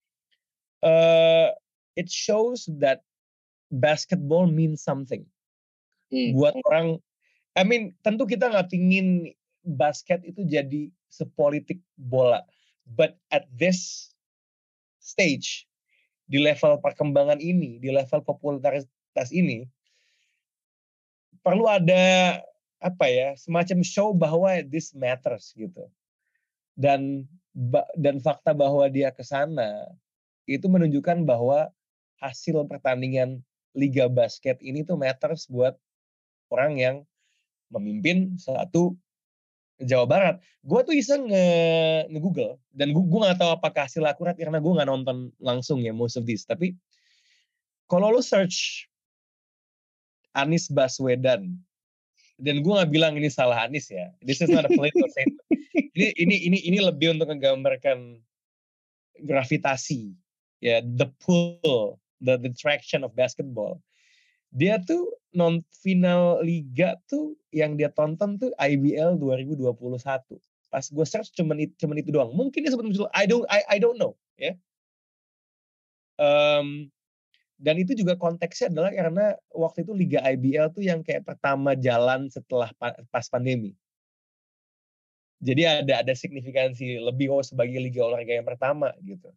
it shows that basketball means something. Buat orang, tentu kita nggak pingin basket itu jadi sepolitik bola. But at this stage, di level perkembangan ini, di level popularitas ini, perlu ada semacam show bahwa this matters gitu. Dan fakta bahwa dia ke sana itu menunjukkan bahwa hasil pertandingan Liga Basket ini tuh matters buat orang yang memimpin satu Jawa Barat. Gue tuh iseng nge-google dan gue nggak tahu apakah hasil akurat karena gue nggak nonton langsung ya most of this. Tapi kalau lo search Anies Baswedan, dan gue nggak bilang ini salah Anies ya. This is not a political statement. Ini lebih untuk menggambarkan gravitasi, ya, the pull, the traction of basketball. Dia tuh final liga tuh yang dia tonton tuh IBL 2021. Pas gue search cuman itu doang. Mungkin dia sempat muncul. I don't know, ya. Dan itu juga konteksnya adalah karena waktu itu liga IBL tuh yang kayak pertama jalan setelah pas pandemi. Jadi ada signifikansi lebih sebagai liga olahraga yang pertama gitu.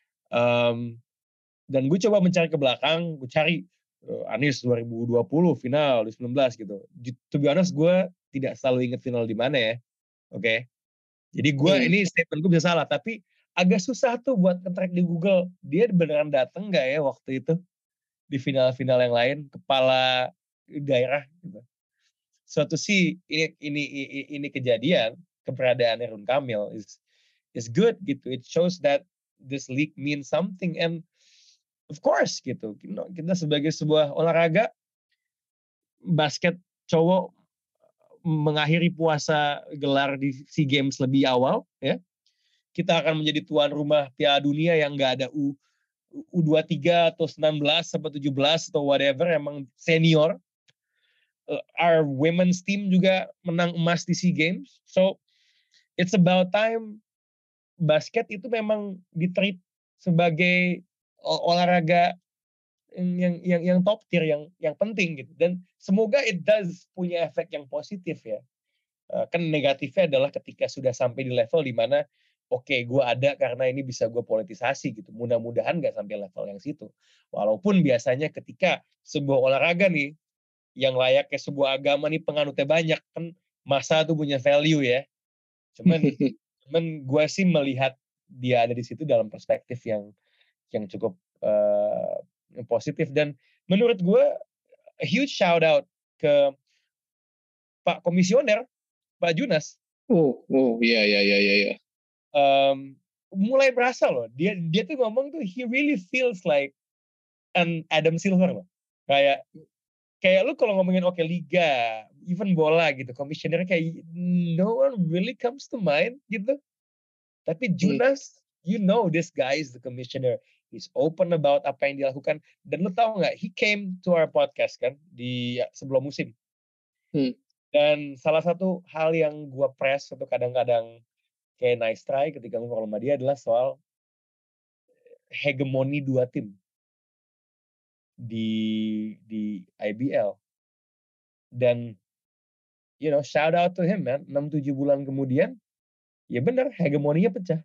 Dan gue coba mencari ke belakang, gue cari Anies 2020 final 2019 gitu. To be honest, gue tidak selalu ingat final di mana ya. Oke. Jadi gue ini statement gue bisa salah, tapi agak susah tuh buat nge-track di Google. Dia beneran datang nggak ya waktu itu di final-final yang lain, kepala daerah gitu. Suatu sih ini kejadian, keberadaan Ridwan Kamil is good gitu. It shows that this league means something, and of course gitu. Kita sebagai sebuah olahraga basket cowok mengakhiri puasa gelar di SEA Games lebih awal ya. Kita akan menjadi tuan rumah Piala Dunia yang nggak ada U23 atau 19 atau 17 atau whatever, emang senior. Our women's team juga menang emas di SEA Games. So it's about time basket itu memang ditreat sebagai olahraga yang top tier, yang penting gitu. Dan semoga it does punya efek yang positif ya. Kan negatifnya adalah ketika sudah sampai di level di mana gue ada karena ini bisa gue politisasi gitu. Mudah-mudahan nggak sampai level yang situ. Walaupun biasanya ketika sebuah olahraga nih yang layaknya sebuah agama nih penganutnya banyak, kan masa tuh punya value ya. Cuman gue sih melihat dia ada di situ dalam perspektif yang cukup positif. Dan menurut gue a huge shout out ke Pak Komisioner, Pak Junas. Iya. Mulai berasa loh, dia tuh ngomong tuh he really feels like an Adam Silver loh. Kayak lu kalau ngomongin liga, even bola gitu, komisionernya kayak no one really comes to mind gitu. Tapi Junas, you know this guy is the commissioner. He's open about apa yang dilakukan. Dan lu tahu nggak, he came to our podcast kan di sebelum musim. Dan salah satu hal yang gue press atau kadang-kadang kayak nice try ketika ngobrol sama dia adalah soal hegemoni dua tim di IBL. Dan shout out to him man, 6-7 bulan kemudian ya benar hegemoninya pecah.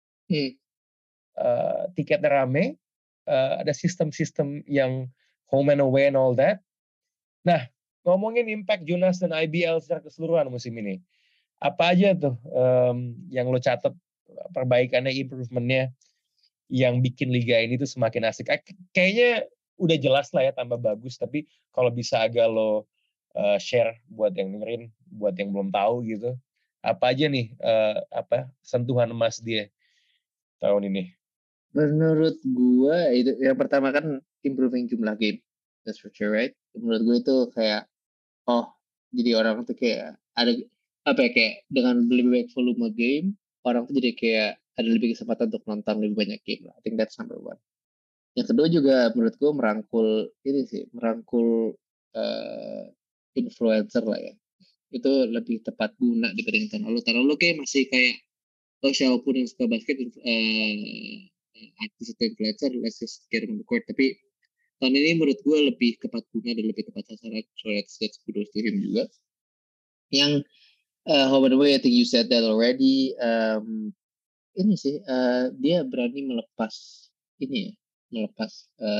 Tiketnya rame, ada sistem-sistem yang home and away and all that. Nah, ngomongin impact Junas dan IBL secara keseluruhan musim ini, apa aja tuh yang lo catat perbaikannya, improvementnya yang bikin liga ini tuh semakin asik. Kayaknya udah jelas lah ya tambah bagus, tapi kalau bisa agak lo share buat yang dengerin, buat yang belum tahu gitu. Apa aja nih sentuhan emas dia tahun ini? Menurut gue itu yang pertama kan improving jumlah game. That's for sure, right? Menurut gue itu kayak jadi orang tuh kayak ada apa ya, kayak dengan lebih banyak volume game, orang tuh jadi kayak ada lebih kesempatan untuk nonton lebih banyak game lah. I think that's number one. Yang kedua juga menurut gue merangkul influencer lah ya. Itu lebih tepat guna dibanding tahun lalu. Tahun lalu kayak masih kayak siapapun yang suka basket artis atau influencer, let's just get on the court. Tapi tahun ini menurut gue lebih tepat guna dan lebih tepat sasaran. So that's kudos to him juga. Yang by the way, I think you said that already. Ini sih dia berani melepas ini ya, melepas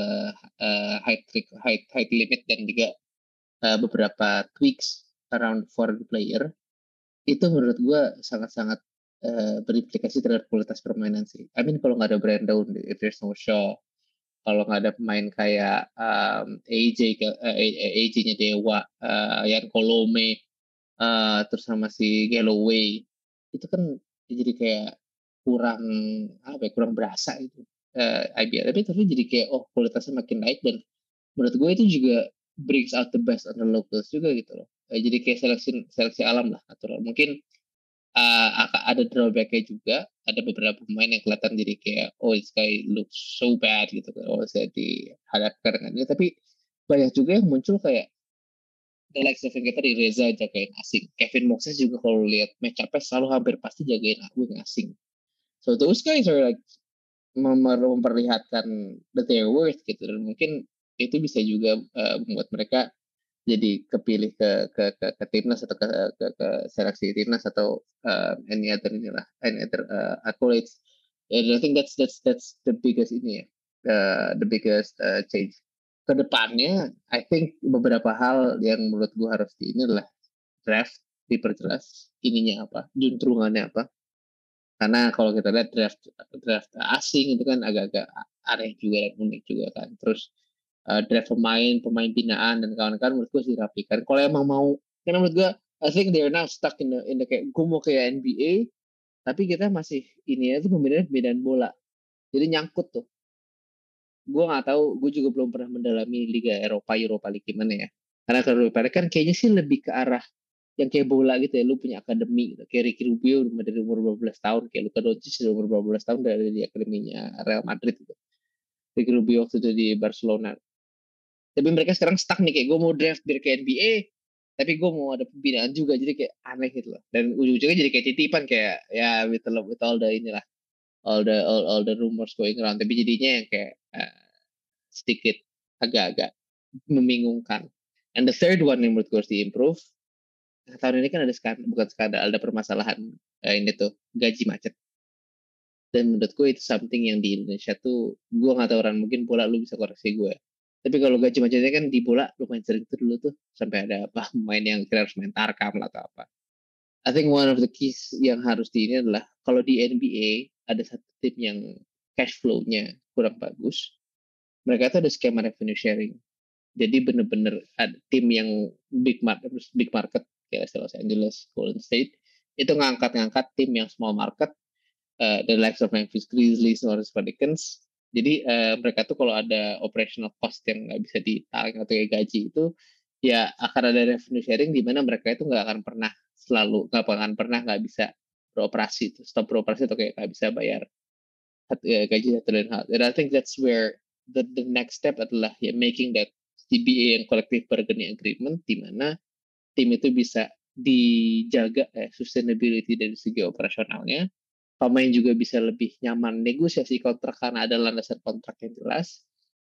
height limit dan juga beberapa tweaks around foreign player. Itu menurut gue sangat-sangat berimplikasi terhadap kualitas permainan sih. I mean kalau nggak ada Brandon, if there's no Shaw, kalau nggak ada pemain kayak AJ-nya Dewa, Yan Kolome, terus sama si Galloway, itu kan jadi kayak kurang berasa itu IBL. Tapi jadi kayak kualitasnya makin naik dan menurut gue itu juga brings out the best on the locals juga gitu loh. Jadi kayak seleksi alam lah natural. Mungkin ada drawbacknya juga, ada beberapa pemain yang kelihatan jadi kayak this guy looks so bad gitu kan, saya dihadapkan dengan dia, tapi banyak juga yang muncul kayak the likes of yang kita di Reza jagain asing, Kevin Moses juga kalau lihat match up selalu hampir pasti jagain wing asing, so those guys are like memperlihatkan that they're worth gitu, dan mungkin itu bisa juga membuat mereka jadi kepilih ke timnas atau ke seleksi timnas atau any other accolades. And I think that's the biggest the biggest change. Kedepannya, I think beberapa hal yang menurut gue harus ini adalah draft diperjelas ininya apa, juntrungannya apa. Karena kalau kita lihat draft asing itu kan agak-agak aneh juga dan unik juga kan. Terus draft pemain binaan dan kawan-kawan menurut gue sih dirapikan. Kalau emang mau, karena menurut gue I think they're now stuck in the kayak gue mau kayak NBA, tapi kita masih ini ya tuh pembedaan bola. Jadi nyangkut tuh. Gue nggak tahu, gue juga belum pernah mendalami Liga Europa League gimana ya. Karena kalau Europa kan kayaknya sih lebih ke arah yang kayak bola gitu ya, lu punya akademi gitu. Kayak Ricky Rubio dari umur 12 tahun, kayak Luka Doncic dari umur 12 tahun dari di akademinya Real Madrid gitu. Ricky Rubio waktu itu di Barcelona. Tapi mereka sekarang stuck nih, kayak gue mau draft biar ke NBA, tapi gue mau ada pembinaan juga, jadi kayak aneh gitu loh. Dan ujung-ujungnya jadi kayak titipan, kayak ya with all the inilah, all the rumors going around. Tapi jadinya yang kayak sedikit agak-agak membingungkan. And the third one yang menurut gue harus diimprove, tahun ini kan ada bukan skandal, ada permasalahan ini tuh gaji macet. Dan menurut gue itu something yang di Indonesia tuh, gue nggak tahu orang, mungkin bola lu bisa koreksi gue. Tapi kalau gaji macetnya kan di bola lumayan sering tuh dulu tuh, sampai ada pemain yang kira harus main tarkam atau apa. I think one of the keys yang harus di ini adalah kalau di NBA ada satu tim yang cash flow-nya kurang bagus, mereka tuh ada skema revenue sharing. Jadi bener-bener ada tim yang big market kayak Los Angeles, Golden State, itu ngangkat tim yang small market, the likes of Memphis Grizzlies, New Orleans Pelicans. Jadi mereka tuh kalau ada operational cost yang nggak bisa ditarik atau kayak gaji itu, ya akan ada revenue sharing di mana mereka itu nggak akan pernah nggak bisa beroperasi, stop beroperasi atau kayak nggak bisa bayar gaji satu dan hal. And I think that's where the next step adalah ya making that CBA yang collective bargaining agreement, di mana tim itu bisa dijaga sustainability dari segi operasionalnya, pemain juga bisa lebih nyaman negosiasi kontrak karena ada landasan kontrak yang jelas.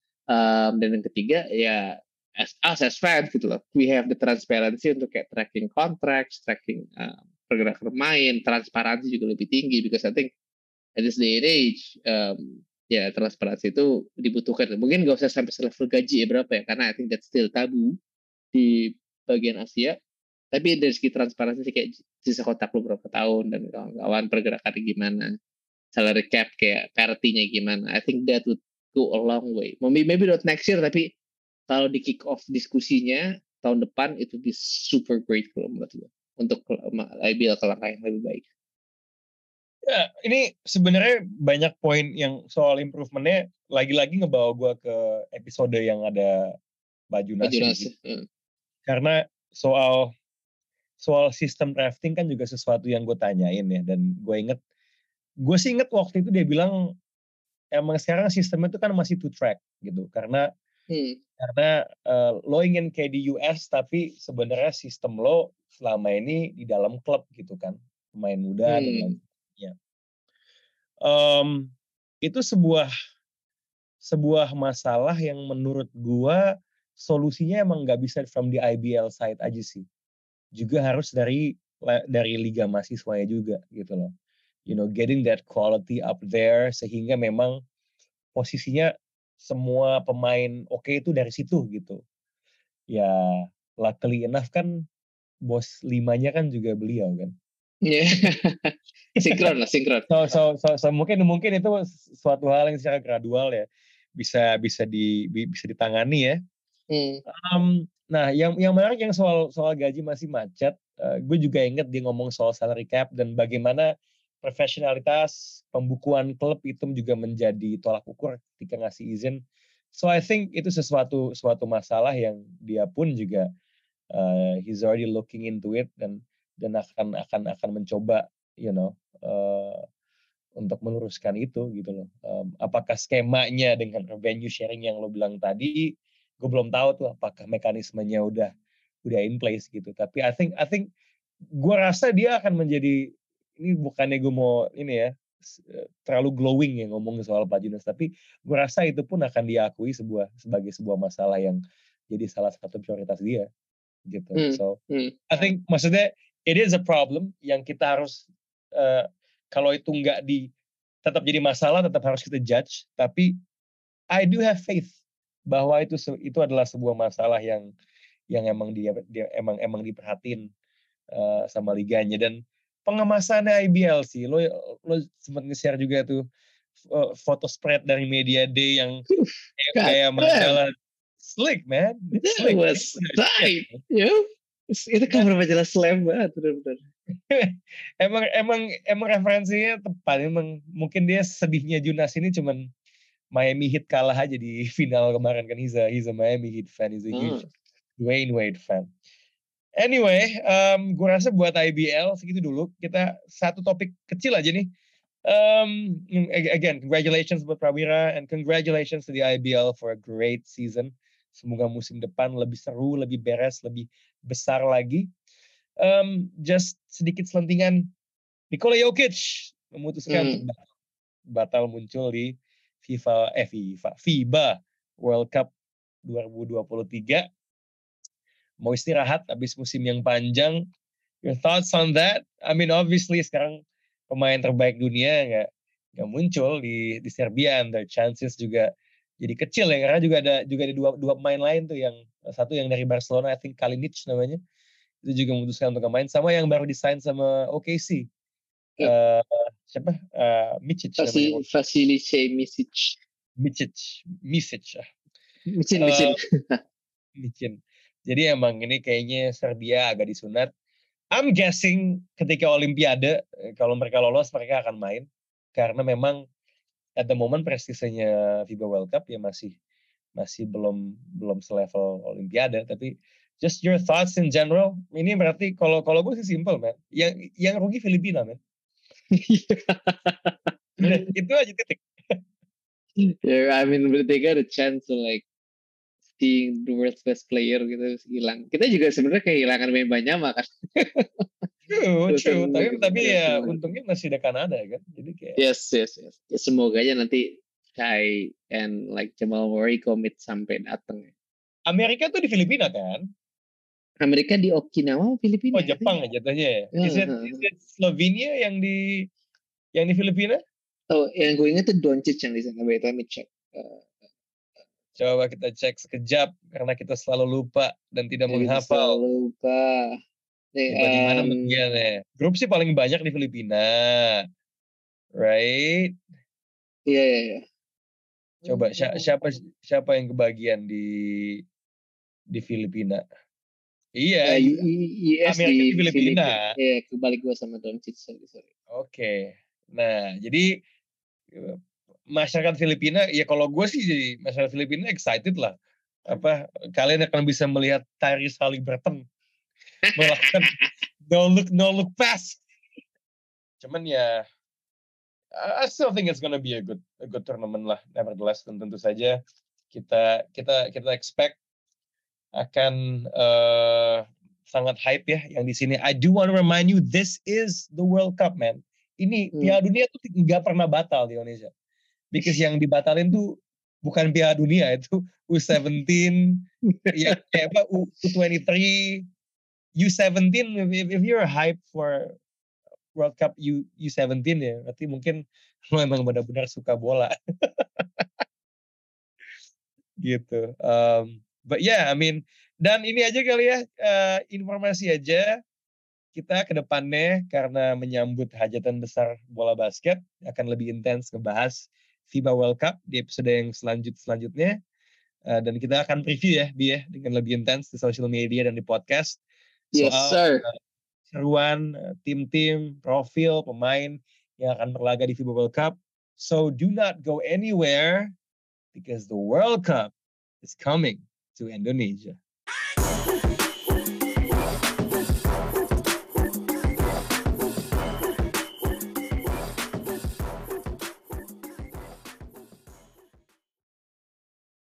Dan yang ketiga ya as fans gitu loh, we have the transparency untuk kayak tracking contracts, tracking pergerakan pemain, transparansi juga lebih tinggi, because I think at this day and age ya transparansi itu dibutuhkan. Mungkin gak usah sampai selevel gaji berapa ya, karena I think that's still tabu di bagian Asia. Tapi dari segi transparansi kayak sisa kotak lu berapa tahun dan kawan-kawan pergerakan gimana. salary cap kayak parity-nya gimana. I think that would go a long way. Maybe not next year, tapi kalau di kick off diskusinya tahun depan itu be super great kalau menurut gue untuk IBL ke langkah yang lebih baik. Ya, ini sebenarnya banyak poin yang soal improvementnya lagi-lagi ngebawa gue ke episode yang ada Baju Nasi. Karena soal sistem drafting kan juga sesuatu yang gue tanyain ya, dan gue sih inget waktu itu dia bilang emang sekarang sistemnya itu kan masih 2 track gitu, karena lo ingin kayak di US tapi sebenarnya sistem lo selama ini di dalam klub gitu kan, pemain muda dan lain sebagainya. Itu sebuah masalah yang menurut gua solusinya emang nggak bisa from the IBL side aja sih, juga harus dari liga mahasiswanya juga gitu loh, getting that quality up there sehingga memang posisinya semua pemain oke itu dari situ gitu. Ya luckily enough kan bos 5-nya kan juga beliau kan. Iya. Sinkron. So mungkin itu suatu hal yang secara gradual ya bisa ditangani ya. Nah, yang menarik yang soal gaji masih macet, gue juga inget dia ngomong soal salary cap dan bagaimana profesionalitas pembukuan klub itu juga menjadi tolak ukur ketika ngasih izin. So I think itu suatu masalah yang dia pun juga he's already looking into it dan akan mencoba untuk meluruskan itu gitu loh. Apakah skemanya dengan revenue sharing yang lo bilang tadi, gue belum tahu tuh apakah mekanismenya udah in place gitu. Tapi I think gue rasa dia akan menjadi, ini bukannya gue mau ini ya terlalu glowing ya ngomong soal Pak Junas, tapi gue rasa itu pun akan diakui sebagai sebuah masalah yang jadi salah satu prioritas dia gitu. So I think maksudnya it is a problem yang kita harus kalau itu nggak tetap jadi masalah, tetap harus kita judge. Tapi I do have faith bahwa itu adalah sebuah masalah yang emang dia emang diperhatiin sama liganya. Dan pengemasannya IBL sih, lo sempat nge-share juga tuh foto spread dari media day yang kayak majalah slick man, slick. Was tight, itu cover majalah Slam banget benar-benar. emang referensinya tepat. Emang mungkin dia sedihnya Junas ini cuman Miami Heat kalah aja di final kemarin kan. He's a Miami Heat fan, he's a huge Dwayne Wade fan. Anyway, gue rasa buat IBL segitu dulu. Kita satu topik kecil aja nih. Again, congratulations buat Prawira and congratulations to the IBL for a great season. Semoga musim depan lebih seru, lebih beres, lebih besar lagi. Just sedikit selentingan, Nikola Jokic memutuskan untuk batal muncul di FIBA World Cup 2023. Mau istirahat habis musim yang panjang. Your thoughts on that? I mean, obviously sekarang pemain terbaik dunia nggak muncul di Serbia, and their chances juga jadi kecil ya, karena juga ada dua pemain lain tuh, yang satu yang dari Barcelona, I think Kalinic namanya, itu juga memutuskan untuk main, sama yang baru disign sama OKC. Siapa? Micic namanya. Vasilice Micic. Micin. Jadi emang ini kayaknya Serbia agak disunat. I'm guessing ketika Olimpiade, kalau mereka lolos mereka akan main, karena memang at the moment prestisenya FIBA World Cup ya masih belum selevel Olimpiade. Tapi just your thoughts in general. Ini berarti kalau gue sih simple man. Yang rugi Filipina man. Itu aja titik. Yeah, I mean they got a chance to like seeing the world's best player gitu hilang. Kita juga sebenarnya kehilangan main banyak kan. True. Tapi ya untungnya masih ada Kanada kan. Jadi kayak Yes. Ya, semoga aja nanti Kai and like Jamal Murray commit sampai datang. Amerika tuh di Filipina kan? Amerika di Okinawa, Filipina. Oh, Jepang jatuhnya ya. Is it Slovenia yang di Filipina? Oh, yang gue ingat tuh Doncic yang di sana. Let me check. Coba kita cek sekejap karena kita selalu lupa dan tidak menghafal. Selalu lupa. Coba di mana bagiannya? Grup sih paling banyak di Filipina. right? Iya. Coba siapa yang kebagian di Filipina? Iya, US Amerika di di Filipina. Iya, kebalik gue sama Doncic. Sorry. Oke. Nah, jadi masyarakat Filipina, ya kalau gue sih jadi masyarakat Filipina excited lah. Kalian akan bisa melihat Tyrese Haliburton melakukan no look pass. Cuman ya, I still think it's gonna be a good tournament lah. Nevertheless, tentu saja kita expect akan sangat hype ya yang di sini. I do want to remind you, this is the World Cup, man. Ini Piala Dunia tuh nggak pernah batal di Indonesia. Because yang dibatalin tuh bukan Piala Dunia, itu U17, ya kayak apa U23, U17. If you're hype for World Cup U17 ya, berarti mungkin lo emang benar-benar suka bola. Gitu. But yeah, I mean, dan ini aja kali ya, informasi aja kita ke depannya karena menyambut hajatan besar bola basket akan lebih intens ngebahas FIBA World Cup di episode yang selanjutnya. Dan kita akan preview ya, Bi ya, dengan lebih intens di social media dan di podcast Yes, soal sir. seruan tim-tim, profil pemain yang akan berlaga di FIBA World Cup. So do not go anywhere because the World Cup is coming to Indonesia.